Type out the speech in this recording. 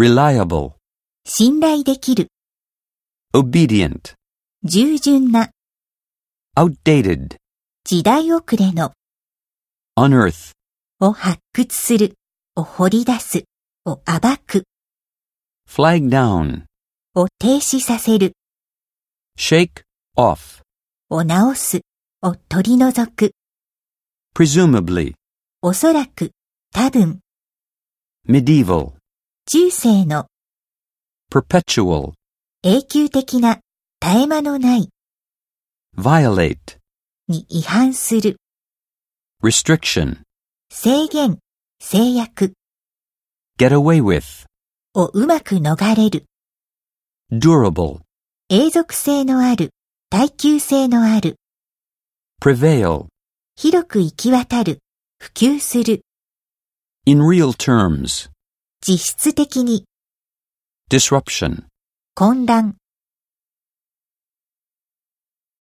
reliable, 信頼できる、 obedient, 従順な、 outdated, 時代遅れの、 unearth, を発掘する、を掘り出す、を暴く、 flag down, を停止させる、 shake off, を直す、を取り除く、 presumably, おそらく、多分、 medieval, 中世の、 perpetual, 永久的な、絶え間のない、 violate, に違反する、 restriction, 制限、制約、 get away with, をうまく逃れる、 durable, 永続性のある、耐久性のある、 prevail, 広く行き渡る、普及する、 in real terms, 実質的に、 disruption. 混乱、